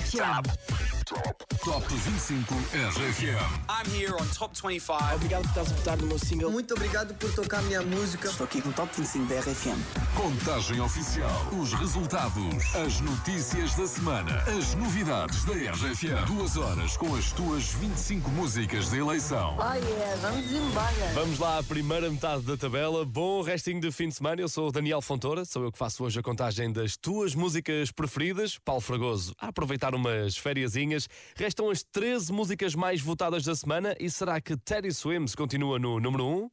RFM. Top 25 RFM. I'm here on Top 25. Obrigado por estás a votar no meu single. Muito obrigado por tocar a minha música. Estou aqui com o Top 25 da RFM. Contagem oficial. Os resultados. As notícias da semana. As novidades da RFM. 2 horas com as tuas 25 músicas de eleição. Vamos embora. Vamos lá à primeira metade da tabela. Bom restinho de fim de semana. Eu sou o Daniel Fontoura. Sou eu que faço hoje a contagem das tuas músicas preferidas. Paulo Fragoso a aproveitar umas fériasinhas. Restam as 13 músicas mais votadas da semana. E será que Teddy Swims continua no número 1?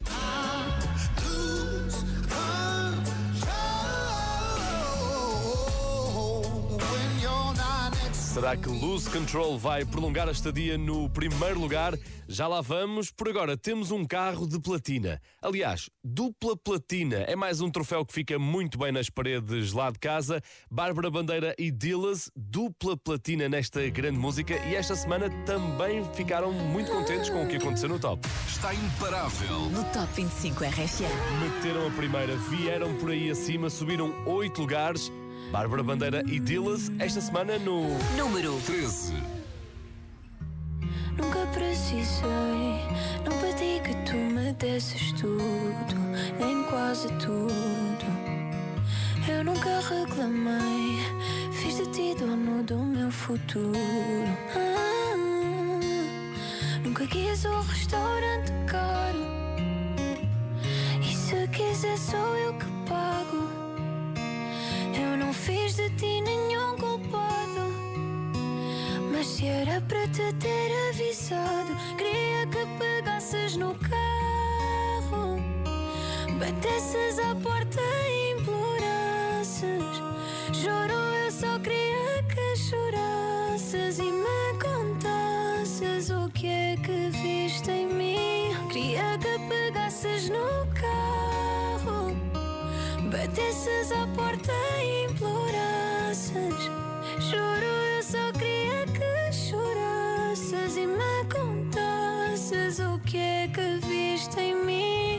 Será que Lose Control vai prolongar a estadia no primeiro lugar? Já lá vamos. Por agora temos um carro de platina. Aliás, dupla platina. É mais um troféu que fica muito bem nas paredes lá de casa. Bárbara Bandeira e Dillaz, dupla platina nesta grande música. E esta semana também ficaram muito contentes com o que aconteceu no top. Está imparável. No Top 25 RFM. Meteram a primeira, vieram por aí acima, subiram 8 lugares. Bárbara Bandeira e Dillaz, esta semana no Número 13. Nunca precisei, não pedi que tu me desses tudo, nem quase tudo. Eu nunca reclamei, fiz de ti dono do meu futuro. Nunca quis um restaurante caro, e se quiser sou eu que pago. Eu não fiz de ti nenhum culpado, mas se era para te ter avisado, queria que pegasses no carro, batesses à porta e implorasses. Juro, eu só queria que chorasses e me contasses o que é que viste em mim. Queria que pegasses no carro, batesses à porta e implorasses. Juro, eu só queria que chorasses e me contasses o que é que viste em mim.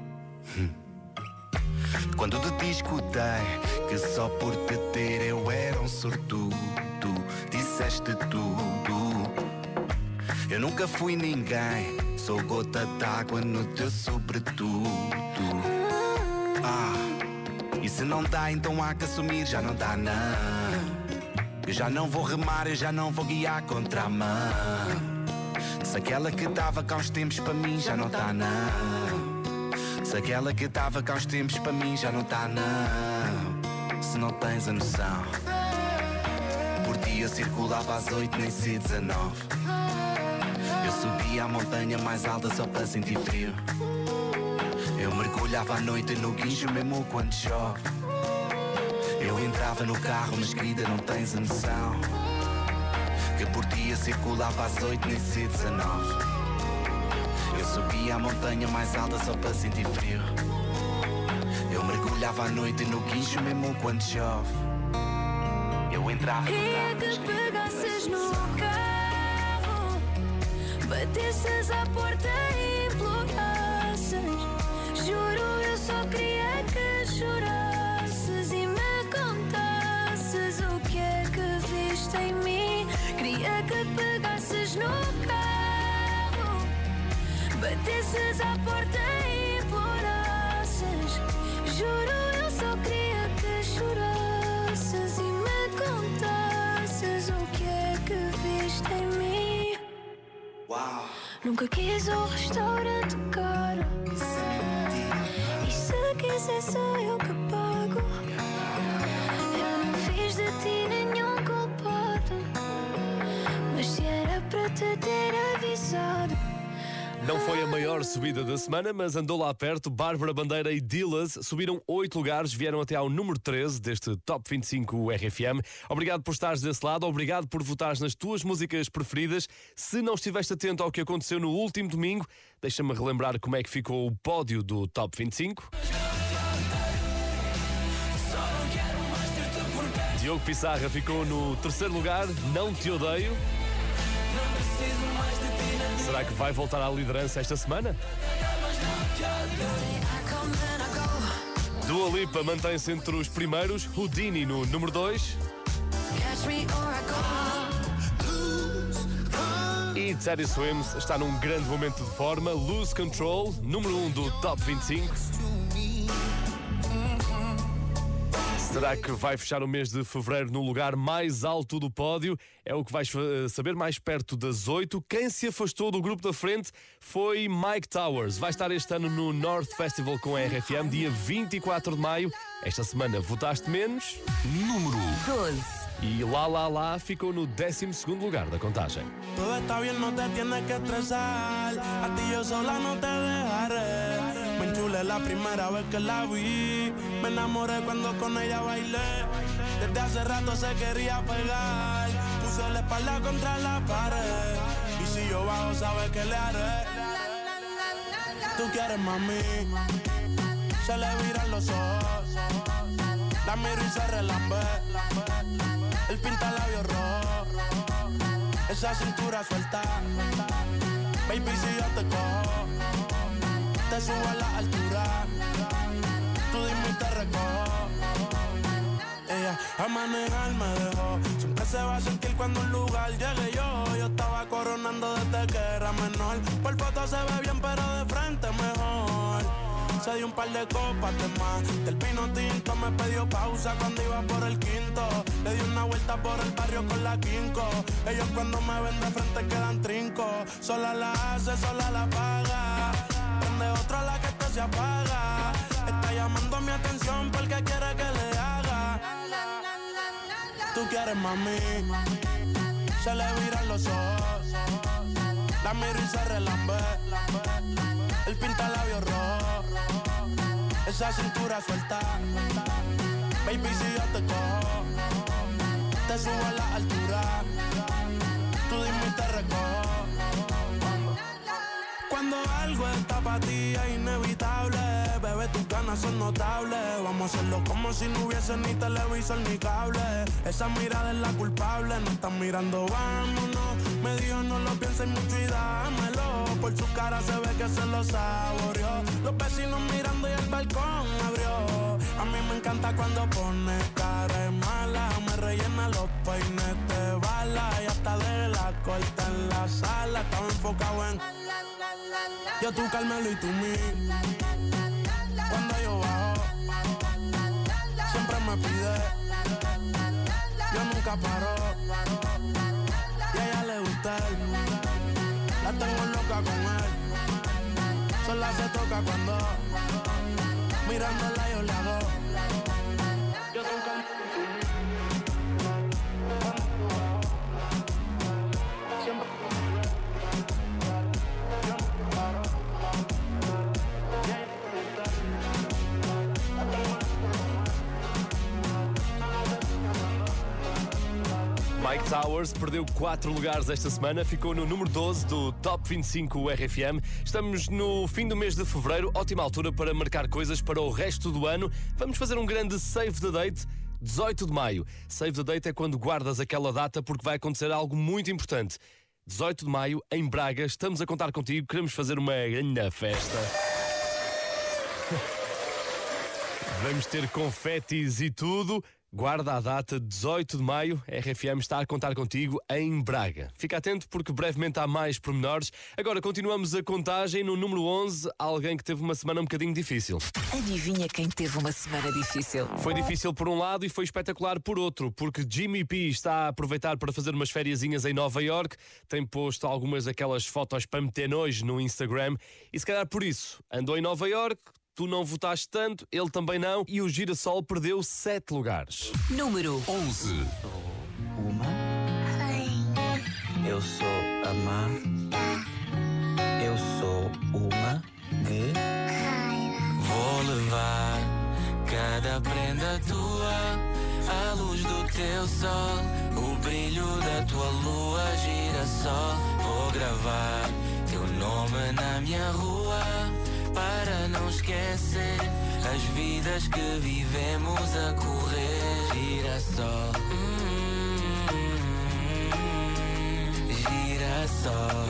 Quando de ti escutei que só por te ter eu era um sortudo, disseste tudo. Eu nunca fui ninguém, sou gota d'água no teu sobretudo. E se não dá, então há que assumir, já não dá não. Eu já não vou remar, eu já não vou guiar contra a mão. Se aquela que dava cá uns tempos para mim já não tá não. Se aquela que dava cá uns tempos para mim já não tá não. Se não tens a noção, por dia circulava às 8 nem se 19. Eu subia a montanha mais alta só para sentir frio. Eu mergulhava à noite no guincho mesmo quando chove. Eu entrava no carro, mas querida não tens a noção, que por dia circulava às 8 nem se 19. Eu subia a montanha mais alta só para sentir frio. Eu mergulhava à noite no guincho mesmo quando chove. Eu entrava no carro, queria que pegasses no carro, batesses à porta e implorasses. Juro, eu só queria que chorasses e me contasses o que é que viste em mim. Queria que pegasses no carro, batesses à porta e implorasses. Juro, eu só queria que chorasses e me contasses o que é que viste em mim. Uau. Nunca quis um restaurante caro, e se quiser sou eu que pago. Eu não fiz de ti nenhum culpado, mas se era para te ter avisado. Não foi a maior subida da semana, mas andou lá perto. Bárbara Bandeira e Dillaz subiram 8 lugares, vieram até ao número 13 deste Top 25 RFM. Obrigado por estares desse lado, obrigado por votares nas tuas músicas preferidas. Se não estiveste atento ao que aconteceu no último domingo, deixa-me relembrar como é que ficou o pódio do Top 25. Diogo Pissarra ficou no terceiro lugar, Não Te Odeio. Será que vai voltar à liderança esta semana? Dua Lipa mantém-se entre os primeiros, Houdini no número 2. E Teddy Swims está num grande momento de forma. Lose Control, número 1 do Top 25. Será que vai fechar o mês de fevereiro no lugar mais alto do pódio? É o que vais saber mais perto das 8. Quem se afastou do grupo da frente foi Myke Towers. Vai estar este ano no North Festival com a RFM, dia 24 de maio. Esta semana votaste menos. Número 12. E La La La ficou no 12º lugar da contagem. Todo está bien, no te tienes que estresar. A ti yo sola no te dejaré. Me enchulé la primera vez que la vi. Me enamoré cuando con ella bailé. Desde hace rato se quería pegar. Puse la espalda contra la pared. Y si yo bajo, sabes que le haré. Tú quieres, mami. Se le viran los ojos. La miro y se relambe. El pinta labios rojo. Esa cintura suelta. Baby, si yo te cojo, te subo a la altura. Tú dime y te recojo. Ella a manejar me dejó. Siempre se va a sentir cuando un lugar llegue yo. Yo estaba coronando desde que era menor. Por foto se ve bien, pero de frente mejor. Se dio un par de copas de más. Del vino tinto me pidió pausa cuando iba por el quinto. Le di una vuelta por el barrio con la quinco. Ellos cuando me ven de frente quedan trinco. Sola la hace, sola la paga. Prende otra la que esto se apaga. Está llamando mi atención porque quiere que le haga. Tú quieres, mami. Se le viran los ojos. La miro y se relambe. El pinta labios rojo. Esa cintura suelta. Baby, si yo te cojo, te subo a la altura. Tú dime y te recojo. Cuando algo está para ti es inevitable. Bebé, tus ganas son notables. Vamos a hacerlo como si no hubiese ni televisor ni cable. Esa mirada es la culpable. No están mirando, vámonos. Me dijo no lo pienses mucho y dámelo. Por su cara se ve que se lo saboreó. Los vecinos mirando y el balcón abrió. A mí me encanta cuando pone cara de mala. Me rellena los peines de bala. Y hasta de la corta en la sala. Estaba enfocado en yo, tú, Carmelo y tú, mí. Cuando yo bajo, siempre me pide. Yo nunca paro. Y a ella le gusta él. La tengo loca con él. Sola se toca cuando mirándola yo le hago. Yo, tú, Carmelo y tú, mí. Siempre. Myke Towers perdeu 4 lugares esta semana, ficou no número 12 do Top 25 RFM. Estamos no fim do mês de fevereiro, ótima altura para marcar coisas para o resto do ano. Vamos fazer um grande save the date, 18 de maio. Save the date é quando guardas aquela data porque vai acontecer algo muito importante. 18 de maio, em Braga, estamos a contar contigo, queremos fazer uma grande festa. Vamos ter confetis e tudo. Guarda a data, 18 de maio, a RFM está a contar contigo em Braga. Fica atento porque brevemente há mais pormenores. Agora continuamos a contagem no número 11, alguém que teve uma semana um bocadinho difícil. Adivinha quem teve uma semana difícil? Foi difícil por um lado e foi espetacular por outro, porque Jimmy P está a aproveitar para fazer umas fériasinhas em Nova York, tem posto algumas daquelas fotos para meter nojo no Instagram e se calhar por isso andou em Nova York. Tu não votaste tanto, ele também não, e o Girassol perdeu 7 lugares. Número 11. Uma rainha. Eu sou a má. Eu sou uma guerreira. Vou levar cada prenda tua, a luz do teu sol, o brilho da tua lua, girassol. Vou gravar teu nome na minha rua, para não esquecer as vidas que vivemos a correr. Girassol, girassol.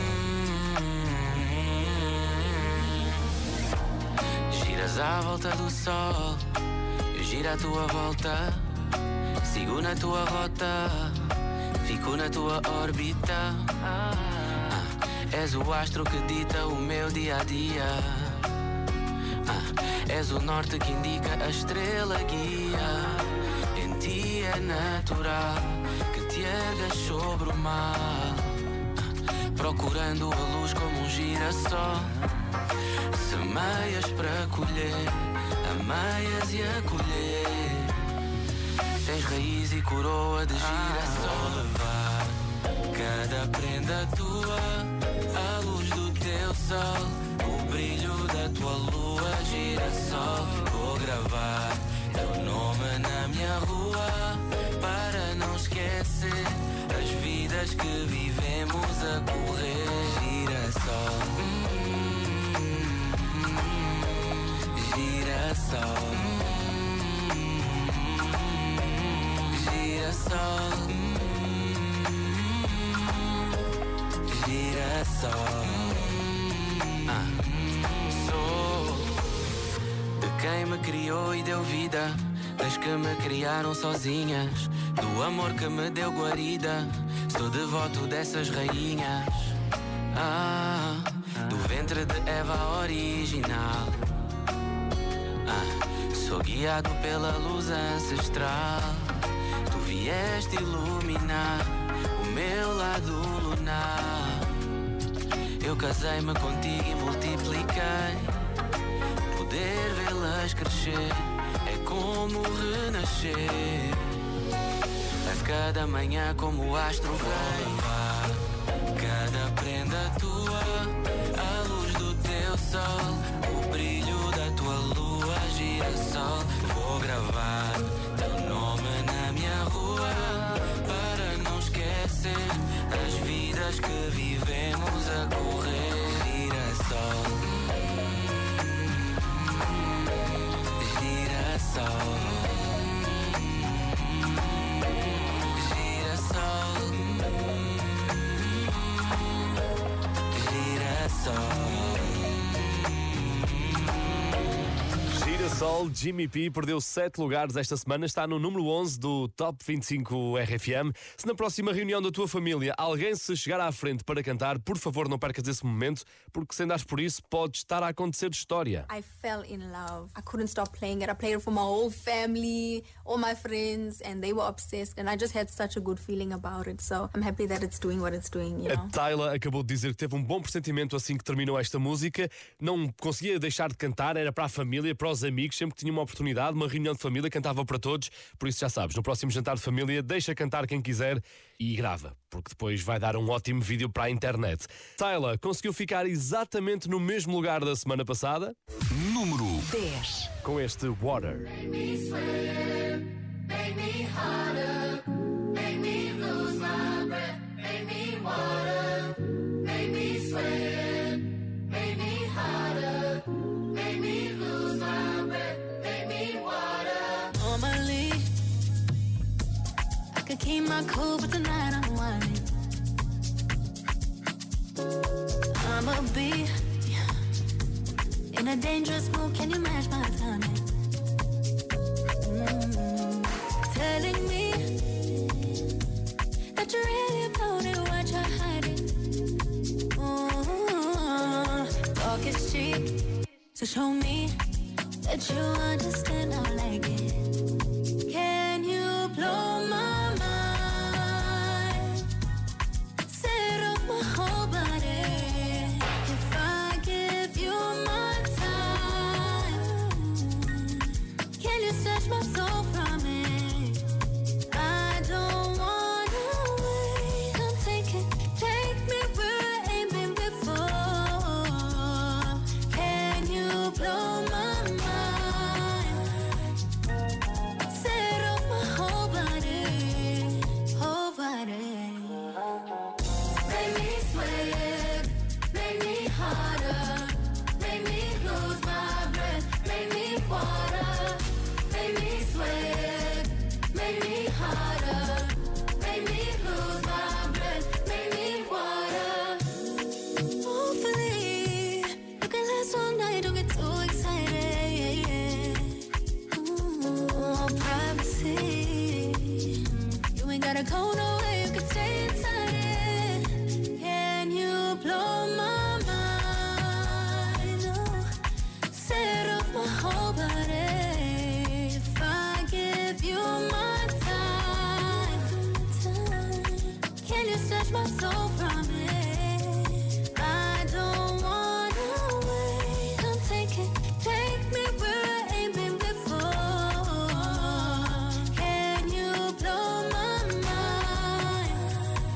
Giras à volta do sol, eu giro à tua volta, sigo na tua rota, fico na tua órbita. És o astro que dita o meu dia a dia. És o norte que indica a estrela guia. Em ti é natural que te ergas sobre o mar, procurando a luz como um girassol. Semeias para colher, ameias e acolher. Tens raiz e coroa de girassol. Levar cada prenda tua, a luz do teu sol, o brilho da tua lua, girassol. Vou gravar teu nome na minha rua, para não esquecer as vidas que vivemos a correr. Girassol, girassol, girassol, girassol. Sou de quem me criou e deu vida, das que me criaram sozinhas, do amor que me deu guarida. Sou devoto dessas rainhas, do ventre de Eva original. Sou guiado pela luz ancestral. Tu vieste iluminar o meu lado lunar. Eu casei-me contigo e multipliquei. Poder vê-las crescer é como renascer. A cada manhã como o astro rei. Cada prenda tua, a luz do teu sol, o brilho da tua lua, girassol. Vou gravar teu nome na minha rua, para não esquecer as vidas que vivemos a correr. Girassol, girassol, Girassol, Jimmy P perdeu 7 lugares esta semana, está no número 11 do Top 25 RFM. Se na próxima reunião da tua família alguém se chegar à frente para cantar, por favor não percas esse momento, porque se andares por isso pode estar a acontecer história. I fell in love. I couldn't stop playing it. I played it for my whole family, all my friends, and they were obsessed, and I just had such a good feeling about it. So I'm happy that it's doing what it's doing, you know. A Tayla acabou de dizer que teve um bom pressentimento assim que terminou esta música. Não conseguia deixar de cantar, era para a família, para os amigos, sempre que tinha uma oportunidade, uma reunião de família, cantava para todos. Por isso já sabes, no próximo jantar de família, deixa cantar quem quiser e grava, porque depois vai dar um ótimo vídeo para a internet. Tayla conseguiu ficar exatamente no mesmo lugar da semana passada. Número 10. Com este Water. Make me sweat, make me harder, make me lose my breath, make me water, make me sweat, make me harder, make me lose my breath, make me water. Normally, I could keep my cool, but tonight I'm whining. I'ma be in a dangerous mood, can you match my timing? Telling me that you really about it, what you're hiding. Talk is cheap, so show me that you understand I like it. Can you blow my mind? Set off my whole body. If I give you my time, can you snatch my soul from it? I don't wanna wait. Come take me where I ain't been before. Can you blow my mind? snatch my soul from it. I don't wanna wait. Come take it, take me where I ain't been before. Can you blow my mind?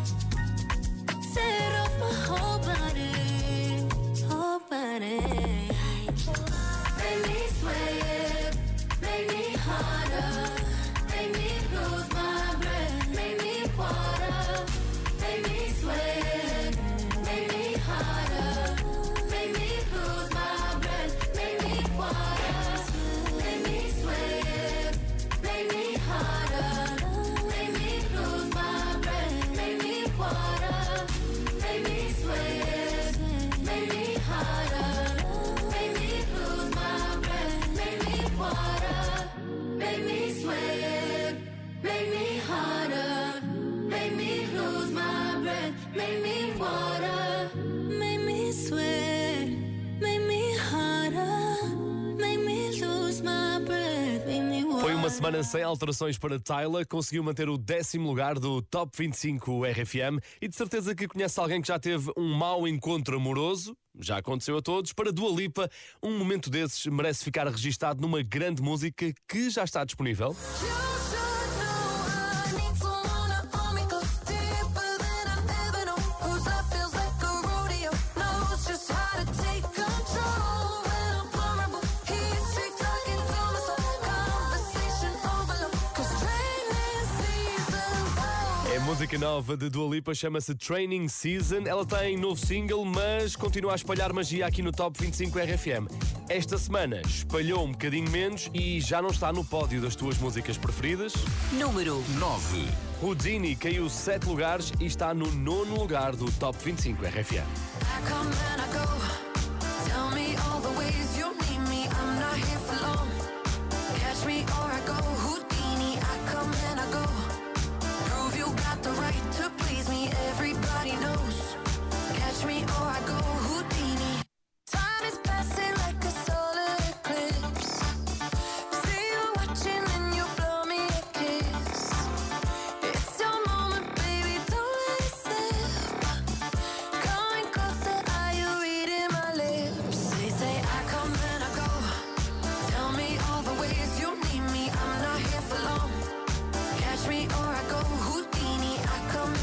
Set off my whole body, whole body. Make me sweat, make me harder, make me lose my breath, make me water, make me sweat, make me harder, make me lose my breath, make me water, make me sweat, make me harder, make me lose my breath, make me water, make me sweat, make me harder, make me lose my breath, make me water, make me sweat, make me harder, make me lose my breath, make me water, make me sweat, make me harder, make me lose my breath, make me water. Foi uma semana sem alterações para Tyla, conseguiu manter o 10º lugar do Top 25 RFM e de certeza que conhece alguém que já teve um mau encontro amoroso, já aconteceu a todos. Para Dua Lipa, um momento desses merece ficar registado numa grande música que já está disponível. É música nova de Dua Lipa, chama-se Training Season. Ela tem novo single, mas continua a espalhar magia aqui no Top 25 RFM. Esta semana espalhou um bocadinho menos e já não está no pódio das tuas músicas preferidas. Número 9. Houdini caiu 7 lugares e está no 9º lugar do Top 25 RFM. Catch me or I go Houdini. I come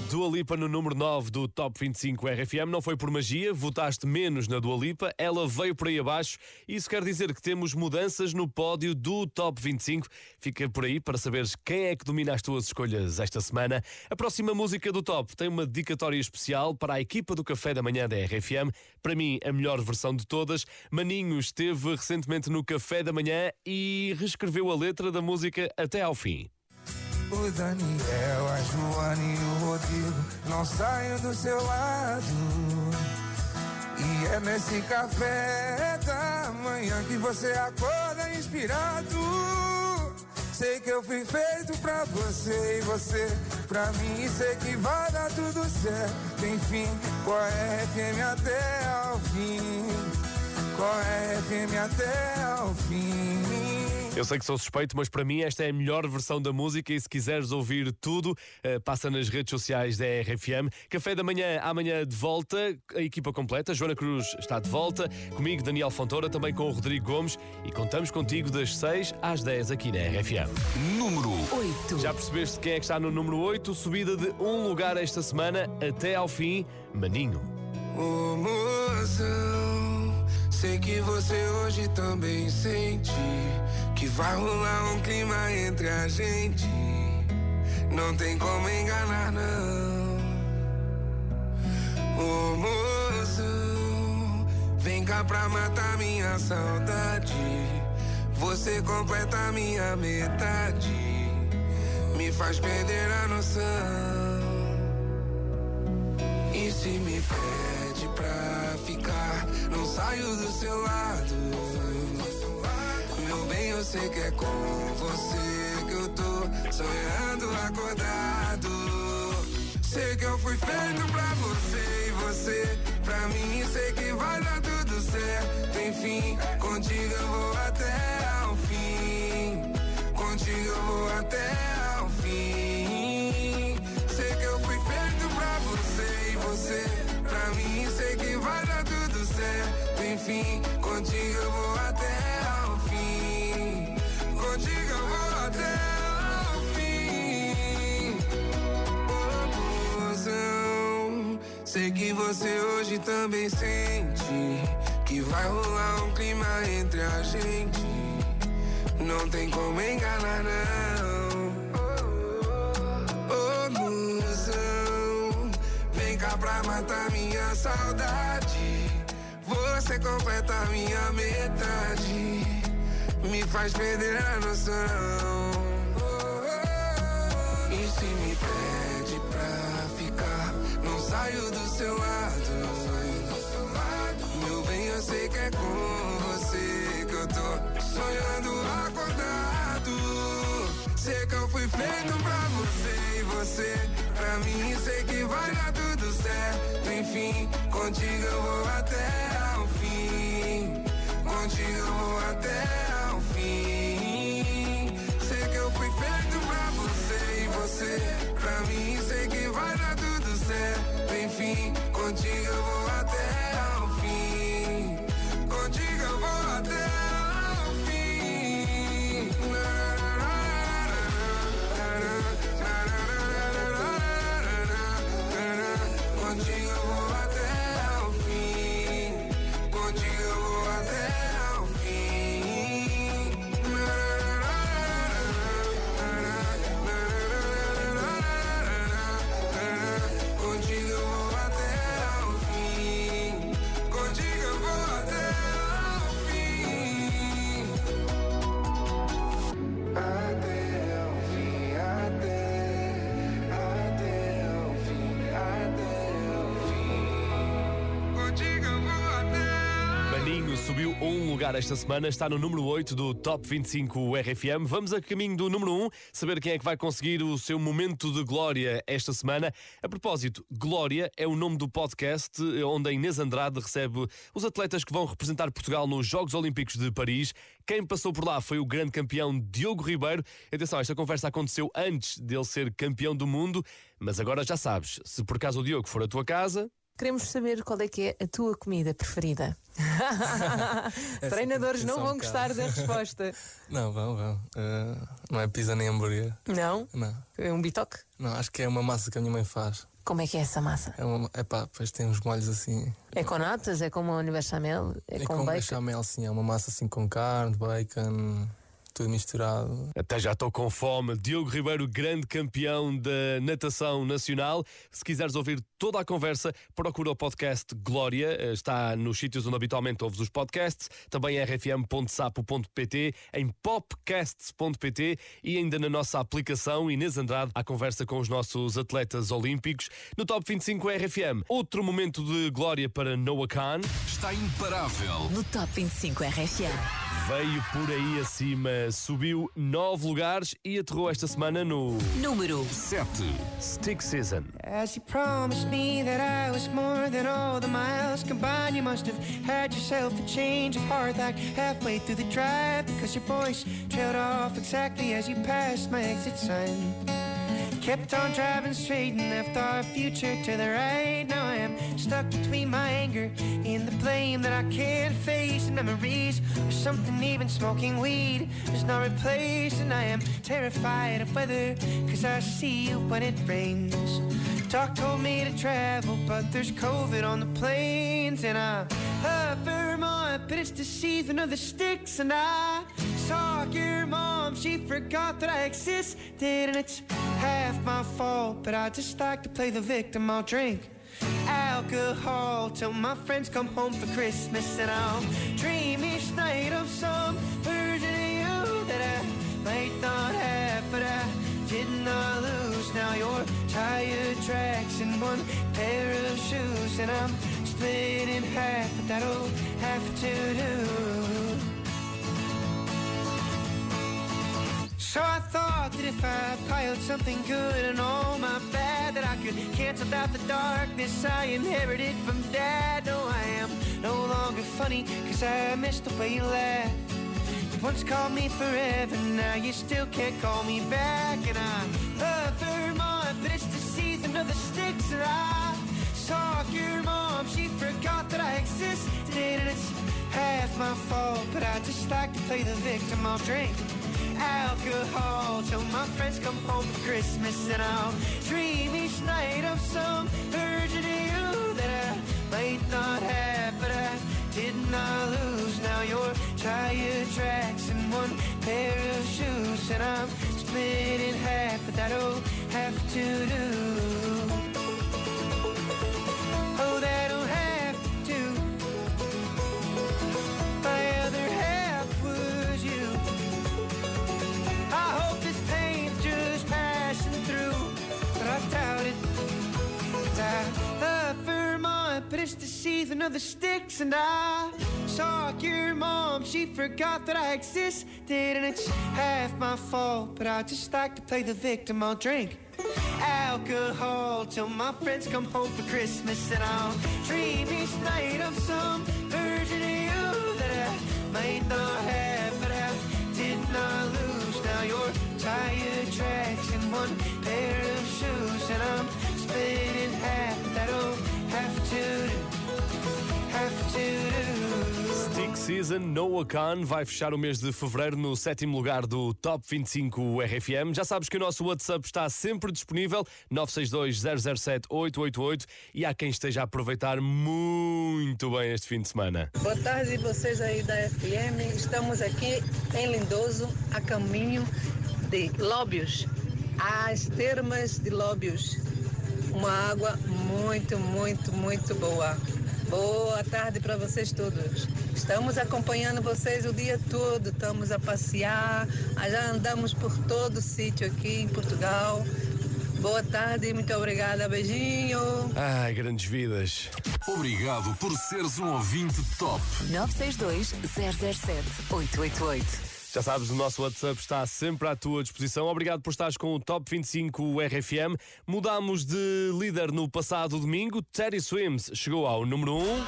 Dua Lipa no número 9 do Top 25 RFM. Não foi por magia, votaste menos na Dua Lipa, ela veio por aí abaixo. Isso quer dizer que temos mudanças no pódio do Top 25. Fica por aí para saberes quem é que domina as tuas escolhas esta semana. A próxima música do Top tem uma dedicatória especial para a equipa do Café da Manhã da RFM. Para mim, a melhor versão de todas. Maninho esteve recentemente no Café da Manhã e reescreveu a letra da música até ao fim. O Daniel, a Joana e o Rodrigo não saem do seu lado. E é nesse café da manhã que você acorda inspirado. Sei que eu fui feito pra você e você pra mim. Sei que vai dar tudo certo. Enfim, qual é FM até ao fim? Qual é FM até ao fim? Eu sei que sou suspeito, mas para mim esta é a melhor versão da música e se quiseres ouvir tudo, passa nas redes sociais da RFM. Café da Manhã, amanhã de volta, a equipa completa. Joana Cruz está de volta, comigo Daniel Fontoura, também com o Rodrigo Gomes e contamos contigo das 6 às 10 aqui na RFM. Número 8. Já percebeste quem é que está no número 8? Subida de um lugar esta semana até ao fim, Maninho. Ô mozão, sei que você hoje também sente que vai rolar um clima entre a gente. Não tem como enganar, não. Ô mozão, vem cá pra matar minha saudade. Você completa minha metade, me faz perder a noção. E se me pede pra ficar, não saio do seu lado. Meu bem, eu sei que é com você que eu tô sonhando acordado. Sei que eu fui feito pra você e você pra mim. Sei que vai dar tudo certo. Enfim, contigo eu vou até ao fim. Contigo eu vou até ao fim. Sei que eu fui feito pra você e você pra mim. Sei que vai dar tudo certo. Enfim, contigo eu vou até ao fim. Contigo eu vou até ao fim. Oh, mozão, sei que você hoje também sente que vai rolar um clima entre a gente. Não tem como enganar, não. Oh, mozão, vem cá pra matar minha saudade. Você completa minha metade, me faz perder a noção. E se me pede pra ficar, não saio do seu lado. Meu bem, eu sei que é com você que eu tô sonhando acordado. Sei que eu fui feito pra você e você pra mim. Sei que vai dar tudo certo. Enfim, contigo eu vou até ao fim. Contigo eu vou até ao fim. Sei que eu fui feito pra você e você pra mim. Sei que vai dar tudo certo. Enfim, contigo eu vou até ao fim. Contigo eu vou até ao fim. Contigo eu vou até ao fim. Contigo eu vou até ao fim. Contigo eu vou até ao fim. Contigo eu vou até ao fim. Até ao fim, até ao fim, até ao fim. Contigo eu vou até. Maninho subiu um lugar esta semana, está no número 8 do Top 25 RFM. Vamos a caminho do número 1, saber quem é que vai conseguir o seu momento de glória esta semana. A propósito, Glória é o nome do podcast onde a Inês Andrade recebe os atletas que vão representar Portugal nos Jogos Olímpicos de Paris. Quem passou por lá foi o grande campeão Diogo Ribeiro. Atenção, esta conversa aconteceu antes dele ser campeão do mundo, mas agora já sabes, se por acaso o Diogo for à tua casa... Queremos saber qual é que é a tua comida preferida. Treinadores não vão gostar da resposta. Não, vão. Não é pizza nem hambúrguer. Não? Não. É um bitoque? Não, acho que é uma massa que a minha mãe faz. Como é que é essa massa? Depois tem uns molhos assim. É com natas? É como uma bechamel? É com bacon? Bechamel, sim. É uma massa assim com carne, bacon, tudo misturado. Até já estou com fome. Diogo Ribeiro, grande campeão da natação nacional. Se quiseres ouvir toda a conversa, procura o podcast Glória. Está nos sítios onde habitualmente ouves os podcasts. Também em rfm.sapo.pt, em popcasts.pt e ainda na nossa aplicação Inês Andrade, à conversa com os nossos atletas olímpicos. No Top 25 RFM, outro momento de glória para Noah Khan. Está imparável. No Top 25 RFM. Veio por aí acima, subiu 9 lugares e aterrou esta semana no número 7. Stick Season. As you promised me that I was more than all the miles combined, you must have had yourself a change of heart like halfway through the drive, because your voice trailed off exactly as you passed my exit sign. Kept on driving straight and left our future to the right. Now I am stuck between my anger and the blame that I can't face. And memories or something, even smoking weed does not replace. And I am terrified of weather, cause I see you when it rains. Doc told me to travel, but there's COVID on the planes. And I love Vermont, but it's the season of the sticks. And I saw your mom, she forgot that I existed. And it's half my fault, but I just like to play the victim. I'll drink alcohol till my friends come home for Christmas. And I'll dream each night of some version of you that I might not have, but I did not lose. Now your tire tracks in one pair of shoes, and I'm split in half, but that'll have to do. So I thought that if I piled something good and all my bad, that I could cancel out the darkness I inherited from Dad. No, I am no longer funny, cause I missed the way you laughed. You once called me forever, now you still can't call me back. And I love Vermont, but it's the season of the sticks. And I saw your mom, she forgot that I existed. And it's half my fault, but I just like to play the victim. I'll drink alcohol till my friends come home for Christmas. And I'll dream each night of some version of you that I might not have, but I did not lose. Now your tire tracks in one pair of shoes, and I'm split in half, but that'll have to do. Oh, that'll have to do. My other half was you. I hope this pain's just passing through, but I doubt it. I love Vermont, but it's the season of the sticks. And I saw your mom, she forgot that I existed. And it's half my fault, but I just like to play the victim. I'll drink alcohol till my friends come home for Christmas. And I'll dream each night of some version of you that I might not have, but I did not lose. Now your tire tracks in one pair of shoes, and I'm split in half. That'll have to do. Stick Season, Noah Khan vai fechar o mês de fevereiro no 7º lugar do Top 25 RFM. Já sabes que o nosso WhatsApp está sempre disponível, 962-007-888, e há quem esteja a aproveitar muito bem este fim de semana. Boa tarde, vocês aí da FM. Estamos aqui em Lindoso, a caminho de Lóbios, às termas de Lóbios. Uma água muito, muito, muito boa. Boa tarde para vocês todos. Estamos acompanhando vocês o dia todo, estamos a passear, já andamos por todo o sítio aqui em Portugal. Boa tarde, muito obrigada, beijinho. Ai, grandes vidas. Obrigado por seres um ouvinte top. 962-007-888. Já sabes, o nosso WhatsApp está sempre à tua disposição. Obrigado por estares com o Top 25 RFM. Mudámos de líder no passado domingo. Teddy Swims chegou ao número 1.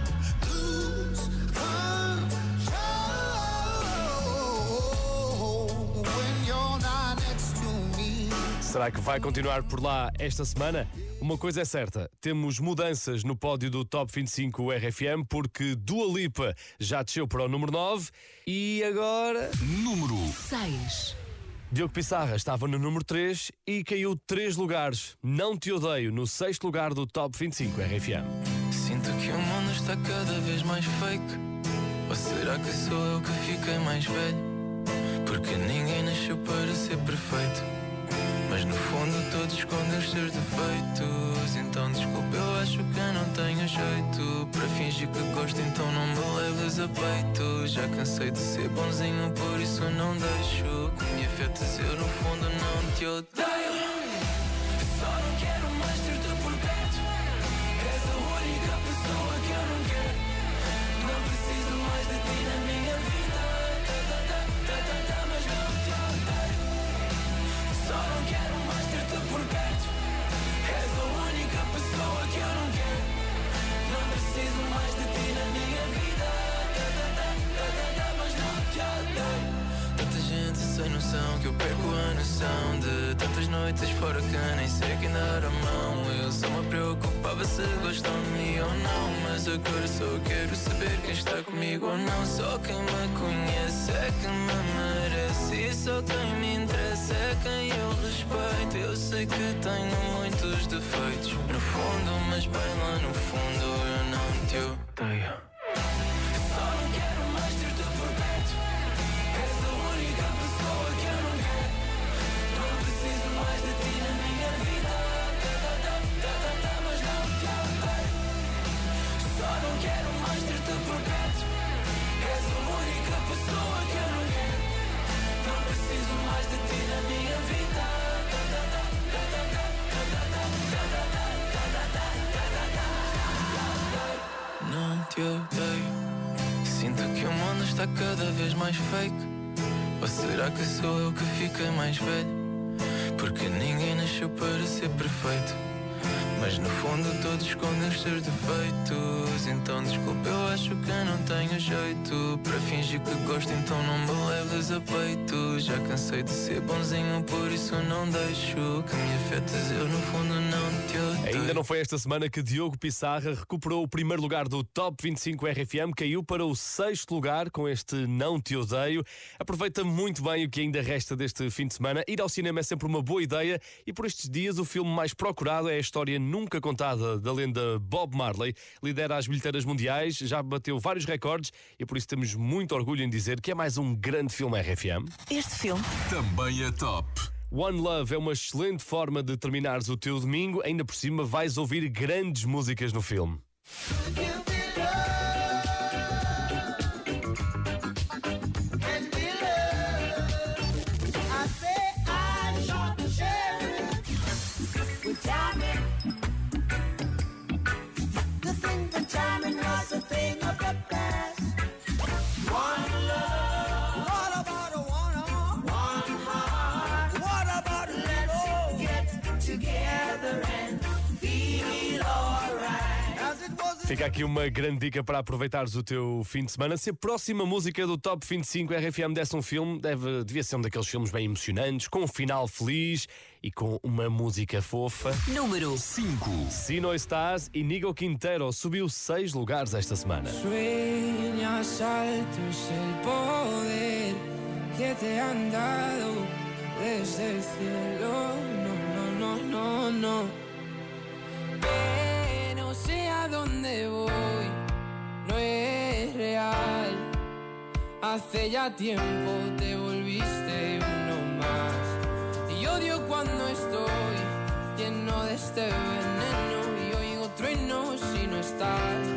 Será que vai continuar por lá esta semana? Uma coisa é certa, temos mudanças no pódio do Top 25 RFM, porque Dua Lipa já desceu para o número 9 e agora... Número 6. Diogo Pissarra estava no número 3 e caiu 3 lugares. Não Te Odeio, no 6º lugar do Top 25 RFM. Sinto que o mundo está cada vez mais fake. Ou será que sou eu que fiquei mais velho? Porque ninguém nasceu para ser perfeito, mas no fundo todos escondem os seus defeitos. Então desculpa, eu acho que eu não tenho jeito para fingir que gosto, então não me leves a peito. Já cansei de ser bonzinho, por isso não deixo que me afetes, eu no fundo não te odeio. Só não quero mais ter-te por perto. És a única pessoa que eu não quero. Não preciso mais de ti na minha vida. Mas não te odeio. Só não quero mais ter-te por perto. És a única pessoa que eu não quero. Não preciso mais de ti na minha vida. Mas não te odeio. Tanta gente sem noção que eu perco a noção de tantas noites fora que nem sei quem dar a mão. Eu só me preocupava se gostam de mim ou não, mas agora só quero saber quem está comigo ou não. Só quem me conhece é que me merece, e só quem me interessa é quem eu respeito. Eu sei que tenho muitos defeitos no fundo, mas bem lá no fundo eu não te odeio. Só não quero mais ter-te por perto. És a única pessoa que eu não quero. Não preciso mais de ti na minha vida. Mas não te odeio. Só não quero mais ter-te por perto. És a única pessoa que eu não quero. Não preciso mais de ti na minha vida. Não te odeio. Sinto que o mundo está cada vez mais fake. Ou será que sou eu que fiquei mais velho? Porque ninguém nasceu para ser perfeito, mas no fundo todos escondem os seus defeitos. Então desculpa, eu acho que eu não tenho jeito para fingir que gosto, então não me leves a peito. Já cansei de ser bonzinho, por isso não deixo que me afetes, eu no fundo não te odeio. Ainda não foi esta semana que Diogo Pissarra recuperou o primeiro lugar do Top 25 RFM, caiu para o 6º lugar com este Não Te Odeio. Aproveita muito bem o que ainda resta deste fim de semana. Ir ao cinema é sempre uma boa ideia e por estes dias o filme mais procurado é a história nunca contada da lenda Bob Marley. Lidera as bilheteiras mundiais, já bateu vários recordes e por isso temos muito orgulho em dizer que é mais um grande filme RFM. Este filme também é top. One Love é uma excelente forma de terminares o teu domingo, ainda por cima vais ouvir grandes músicas no filme. Fica aqui uma grande dica para aproveitares o teu fim de semana. Se a próxima música do Top 25 RFM desse um filme, devia ser um daqueles filmes bem emocionantes, com um final feliz e com uma música fofa. Número 5. Si No Estás e Nigo Quintero subiu 6 lugares esta semana. Sueñas altos el poder que te han dado desde el cielo. No. No sé a dónde voy, no es real. Hace ya tiempo te volviste uno más. Y odio cuando estoy lleno de este veneno y oigo truenos si no estás.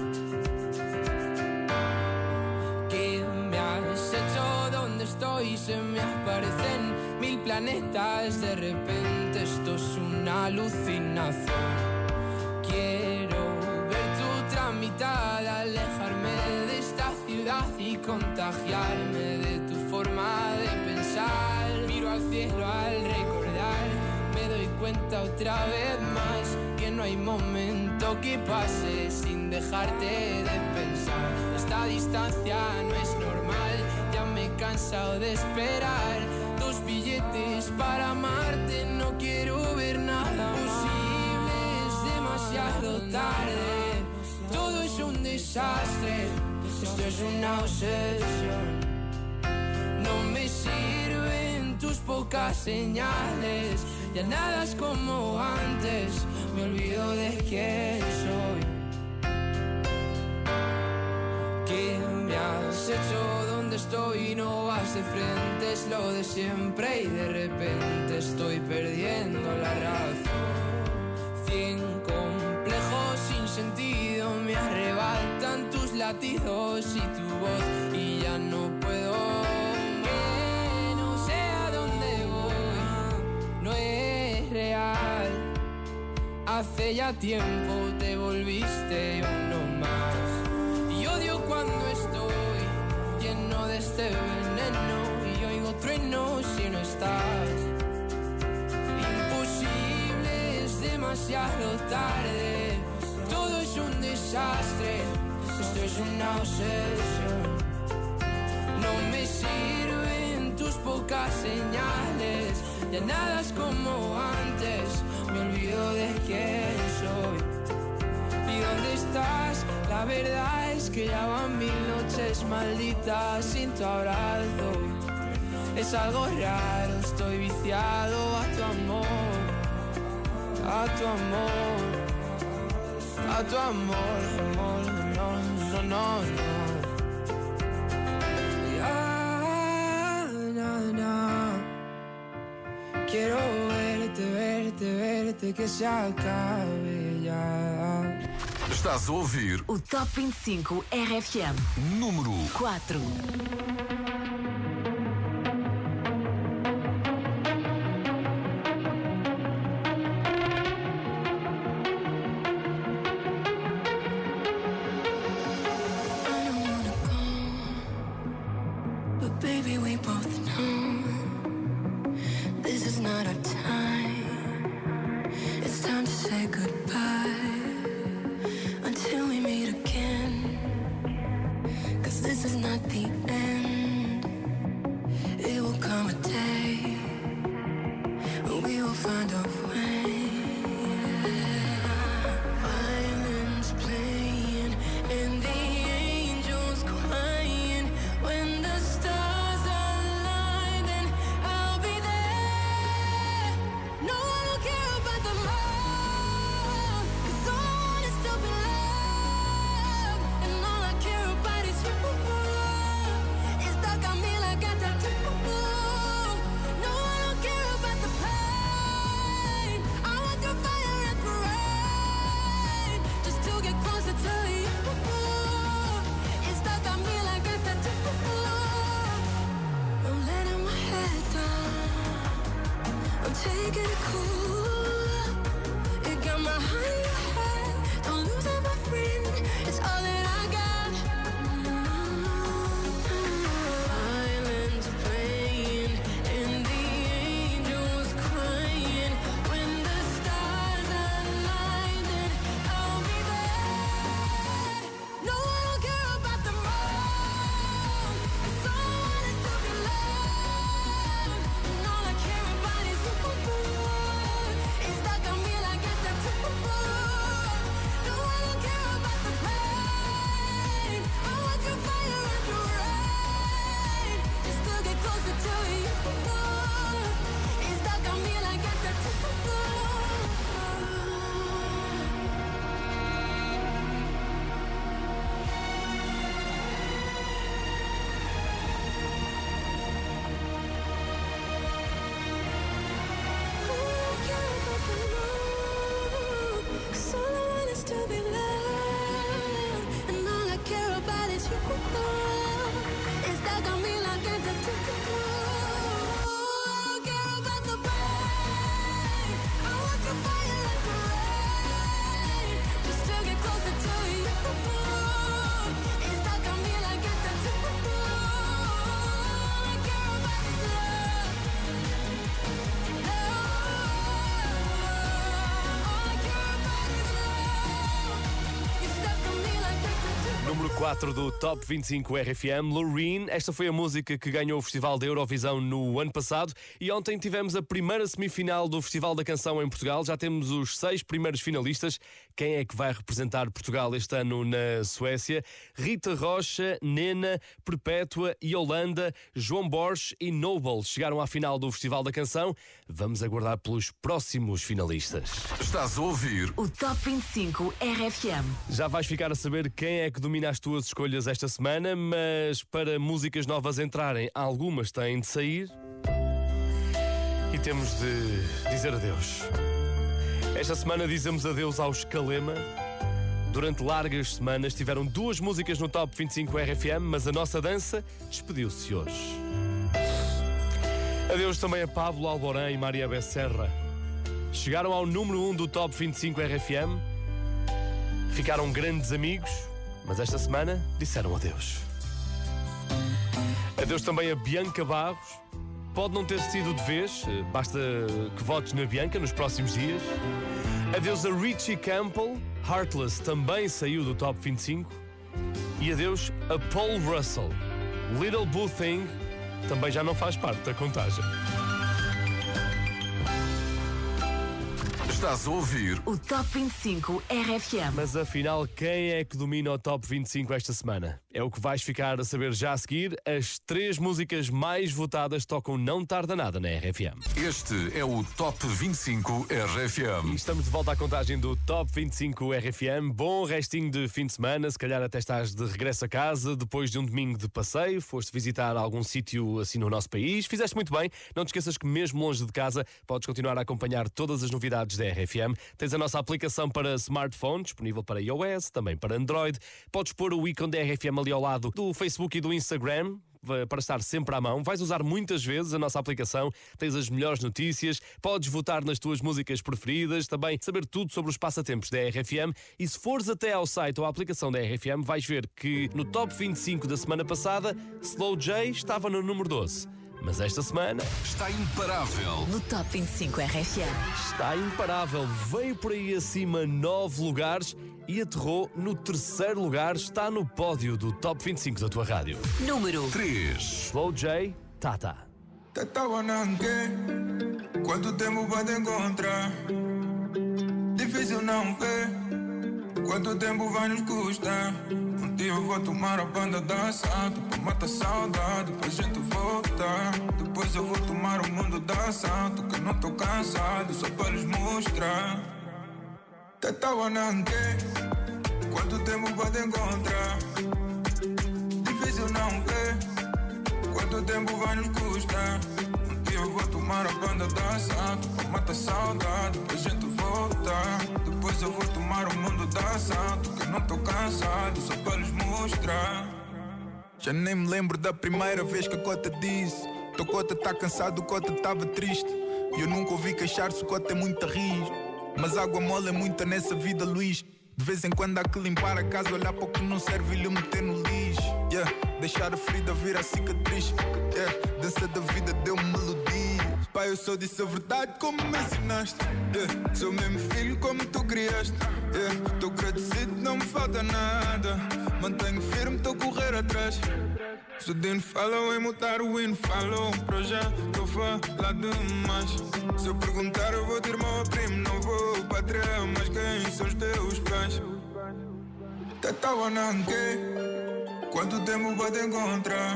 ¿Qué me has hecho? ¿Dónde estoy? Se me aparecen 1000 planetas. De repente esto es una alucinación. Quiero ver tu tramitada, alejarme de esta ciudad y contagiarme de tu forma de pensar. Miro al cielo al recordar, me doy cuenta otra vez más que no hay momento que pase sin dejarte de pensar. Esta distancia no es normal, ya me he cansado de esperar. 2 billetes para amarte, no quiero ver nada posible. Demasiado tarde, todo es un desastre, esto es una obsesión. No me sirven tus pocas señales. Ya nada es como antes, me olvido de quién soy. ¿Qué me has hecho? ¿Dónde estoy? No vas de frente, es lo de siempre y de repente estoy perdiendo la razón. 100 complejos sin sentido me arrebatan tus latidos y tu voz y ya no puedo. Que no sé a dónde voy, no es real. Hace ya tiempo te volviste uno más. Y odio cuando estoy lleno de este veneno y oigo truenos si no estás. Imposible, es demasiado tarde. Todo es un desastre, esto es una obsesión. No me sirven tus pocas señales, ya nada es como antes, me olvido de quién soy. ¿Y dónde estás? La verdad es que ya van 1000 noches malditas sin tu abrazo. Es algo raro, estoy viciado a tu amor, a tu amor, a tu amor, amor, no, no, no, no. Ya, no, no. Quiero verte, verte, verte, que se acabe ya. Estás a ouvir o Top 25 RFM. Número 4. No, I don't care about the love, 'cause 4 do Top 25 RFM, Loreen. Esta foi a música que ganhou o Festival da Eurovisão no ano passado e ontem tivemos a primeira semifinal do Festival da Canção em Portugal. Já temos os 6 primeiros finalistas. Quem é que vai representar Portugal este ano na Suécia? Rita Rocha, Nena, Perpétua, Yolanda, João Borges e Noble chegaram à final do Festival da Canção. Vamos aguardar pelos próximos finalistas. Estás a ouvir o Top 25 RFM. Já vais ficar a saber quem é que domina as tuas escolhas esta semana, mas para músicas novas entrarem, algumas têm de sair e temos de dizer adeus. Esta semana dizemos adeus aos Kalema. Durante largas semanas tiveram 2 músicas no Top 25 RFM, mas a nossa dança despediu-se hoje. Adeus também a Pablo Alborán e Maria Becerra. Chegaram ao número 1 do Top 25 RFM, ficaram grandes amigos, mas esta semana disseram adeus. Adeus também a Bianca Barros. Pode não ter sido de vez, basta que votes na Bianca nos próximos dias. Adeus a Richie Campbell. Heartless também saiu do Top 25. E adeus a Paul Russell. Little Blue Thing também já não faz parte da contagem. Estás a ouvir o Top 25 RFM. Mas afinal, quem é que domina o Top 25 esta semana? É o que vais ficar a saber já a seguir. As 3 músicas mais votadas tocam Não Tarda Nada na RFM. Este é o Top 25 RFM. E estamos de volta à contagem do Top 25 RFM. Bom restinho de fim de semana. Se calhar até estás de regresso a casa depois de um domingo de passeio. Foste visitar algum sítio assim no nosso país. Fizeste muito bem. Não te esqueças que mesmo longe de casa podes continuar a acompanhar todas as novidades da RFM. Tens a nossa aplicação para smartphone, disponível para iOS, também para Android. Podes pôr o ícone da RFM ali ao lado do Facebook e do Instagram, para estar sempre à mão. Vais usar muitas vezes a nossa aplicação, tens as melhores notícias, podes votar nas tuas músicas preferidas, também saber tudo sobre os passatempos da RFM. E se fores até ao site ou à aplicação da RFM, vais ver que no Top 25 da semana passada, Slow J estava no número 12. Mas esta semana está imparável no Top 25 RFM. Está imparável, veio por aí acima 9 lugares e aterrou no 3º lugar. Está no pódio do Top 25 da tua rádio. Número 3. Slow J, Tata. Tata Wananque, quanto tempo pode encontrar? Difícil não ver, quanto tempo vai nos custar? Um dia eu vou tomar a banda da assalto pra matar saudade, pra gente voltar. Depois eu vou tomar o mundo da assalto, que eu não tô cansado, só pra lhes mostrar. Tata Wananque, quanto tempo pode encontrar? Difícil não ver, quanto tempo vai nos custar? Um dia eu vou tomar a banda da assalto pra matar saudade, pra gente voltar. Depois eu vou tomar o mundo da assalto, que eu não tô cansado, só pra lhes mostrar. Já nem me lembro da primeira vez que a Cota disse: teu Cota tá cansado, o Cota tava triste. E eu nunca ouvi queixar-se, o Cota é muito risco. Mas água mole é muita nessa vida, Luís. De vez em quando há que limpar a casa, olhar para o que não serve e lhe meter no lixo. Deixar a ferida vir a cicatriz. Dança da vida deu-me melodia. Pai, eu só disse a verdade como me ensinaste. Sou mesmo filho como tu criaste. Tô agradecido, não me falta nada. Mantenho firme, tô a correr atrás. Se o Dino falou em mudar o hino, falou para já, tô falar demais. Se eu perguntar eu vou ter meu primo, não vou patrão, mas quem são os teus pais? Tata Wananque, quanto tempo pode encontrar?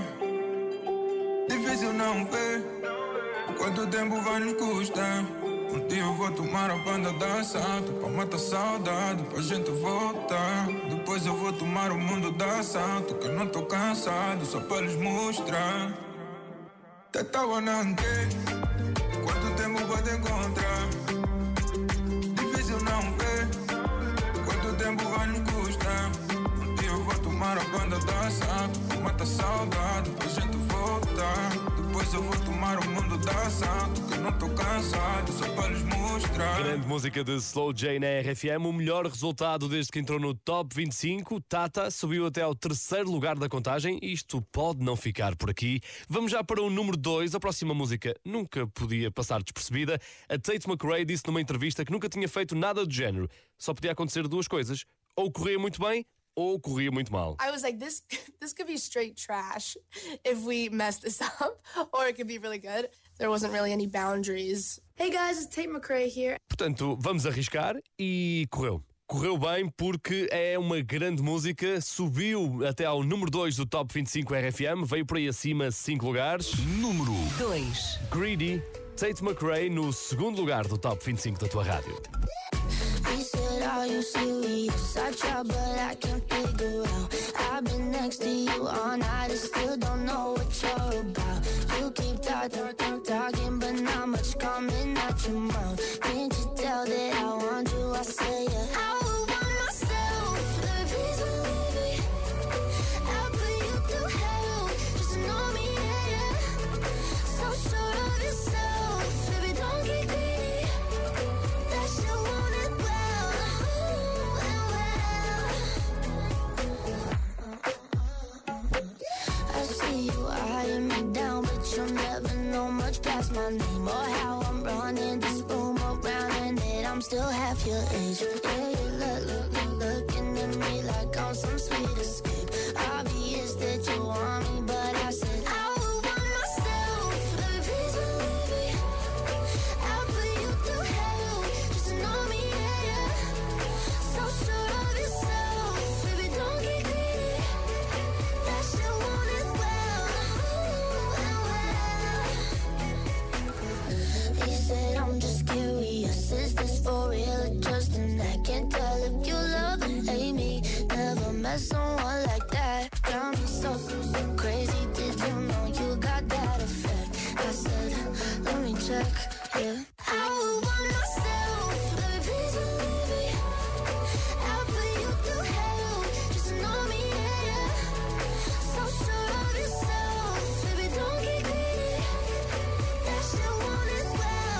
Difícil não ver, quanto tempo vai nos custar? Um dia eu vou tomar a banda da assalto pra matar saudade, pra gente voltar. Depois eu vou tomar o mundo da assalto, que eu não tô cansado, só pra lhes mostrar. Tata Wananque, quanto tempo pode encontrar? Difícil não ver, quanto tempo vai nos custar? Um dia eu vou tomar a banda da assalto pra matar saudade, pra gente voltar. Depois eu vou tomar o mundo da assalto, que eu não tô cansado, só para lhes mostrar. Grande música de Slow J na RFM, o melhor resultado desde que entrou no Top 25. Tata subiu até ao 3º lugar da contagem. Isto pode não ficar por aqui. Vamos já para o número 2. A próxima música nunca podia passar despercebida. A Tate McRae disse numa entrevista que nunca tinha feito nada do género. Só podia acontecer 2 coisas: ou corria muito bem, ou corria muito mal. I was like, this could be straight trash if we mess this up, or it could be really good. There wasn't really any boundaries. Hey guys, it's Tate McRae here. Portanto, vamos arriscar e correu. Correu bem porque é uma grande música, subiu até ao número 2 do Top 25 RFM, veio por aí acima 5 lugares. Número 2. Greedy, Tate McRae no segundo lugar do Top 25 da tua rádio. He said, are you serious? I try, but I can't figure out. I've been next to you all night and still don't know what you're about. You keep talking, but not much coming out your mouth. Can't you tell that I want you? I say yeah. I would want myself, but please believe me. I'll put you through hell, just know me, yeah. So sure of yourself, baby, don't get greedy. That shit won't end well, I see you eyeing me down, but you'll never know much past my name or how I'm running this room around, and that I'm still half your age. Yeah, you looking at me like I'm some sweet escape. Obvious that you want me, but I said I would want myself, baby, please believe me. I'll put you through hell, just know me, yeah. So sure of yourself, baby, don't get greedy. That shit won't end well. He said, I'm just curious, is this for real or just an act? Can't tell if you love or hate me. Never met someone like that. Got me so crazy, did you know you got that effect? I said, let me check, yeah. I would want myself, baby, please believe me. I'll put you through hell, just know me, yeah. So sure of yourself, baby, don't get greedy. That shit won't end well.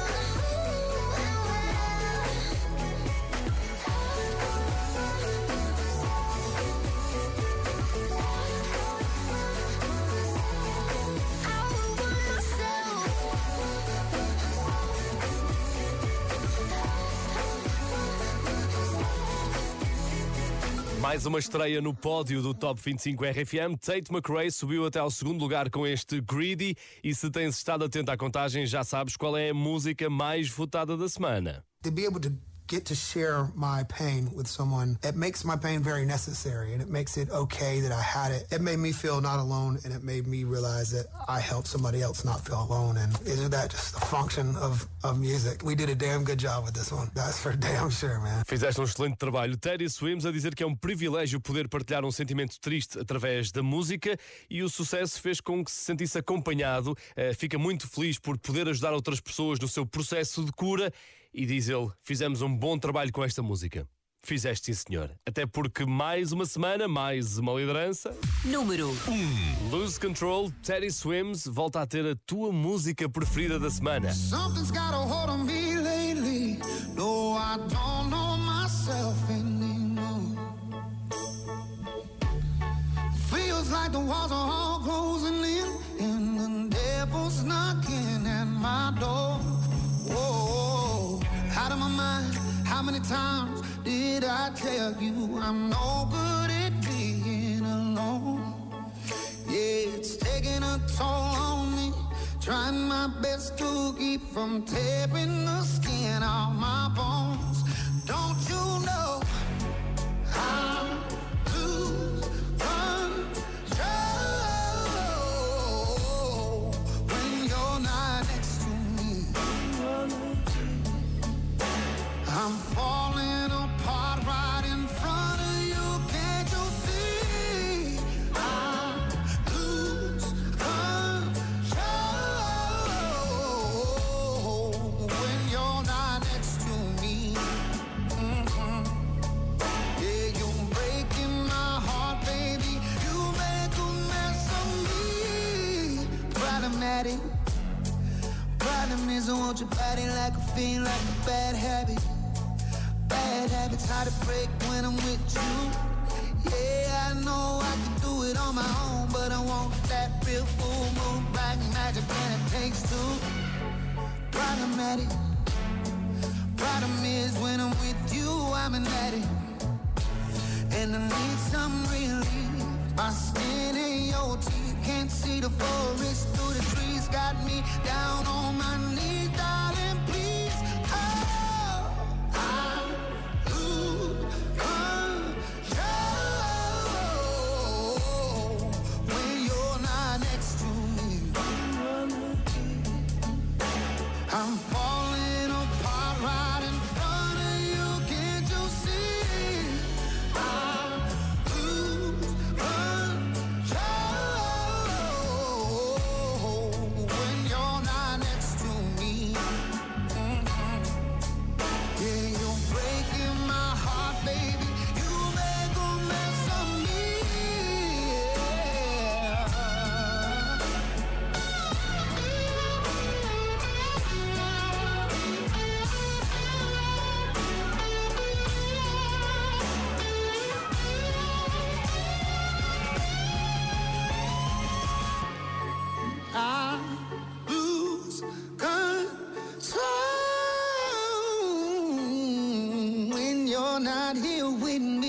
Mais uma estreia no pódio do Top 25 RFM. Tate McRae subiu até ao segundo lugar com este Greedy. E se tens estado atento à contagem, já sabes qual é a música mais votada da semana. To be able to get to share my pain with someone, it makes my pain very necessary, and it makes it okay that I had it. It made me feel not alone, and it made me realize that I helped somebody else not feel alone. And isn't that just a function of music? We did a damn good job with this one. That's for damn sure, man. Fizeste um excelente trabalho. Teddy Swims a dizer que é um privilégio poder partilhar um sentimento triste através da música, e o sucesso fez com que se sentisse acompanhado. Fica muito feliz por poder ajudar outras pessoas no seu processo de cura. E diz ele, fizemos um bom trabalho com esta música. Fizeste, sim, senhor. Até porque mais uma semana, mais uma liderança. Número 1. Lose Control, Teddy Swims volta a ter a tua música preferida da semana. Something's got a hold on me lately. No, I don't know myself anymore. Feels like the walls are all closing in, and the devil's knocking at my door. Whoa, out of my mind. How many times did I tell you I'm no good at being alone? Yeah, it's taking a toll on me. Trying my best to keep from tearing the skin off my bones. Don't you know I'm lose control when you're not next to me? I'm falling apart right in front of you. Can't you see? I lose control when you're not next to me. Yeah, you're breaking my heart, baby. You make a mess of me. Problematic. Problem is I want your body like a fiend, like a bad habit. Bad habits hard to break when I'm with you. Yeah, I know I can do it on my own, but I want that real full moon black magic, and it takes two. Problematic. Problem is when I'm with you, I'm an addict. and I need some relief. My skin ain't your teeth, can't see the forest through the trees. Got me down on my knees, darling, please. Oh, I lose control when you're not next to me. I'm falling apart right in front of you, can't you see? I lose control when you're not next to me. Yeah, you're breaking my heart, baby. You make a mess of me. I lose control when you're not here with me.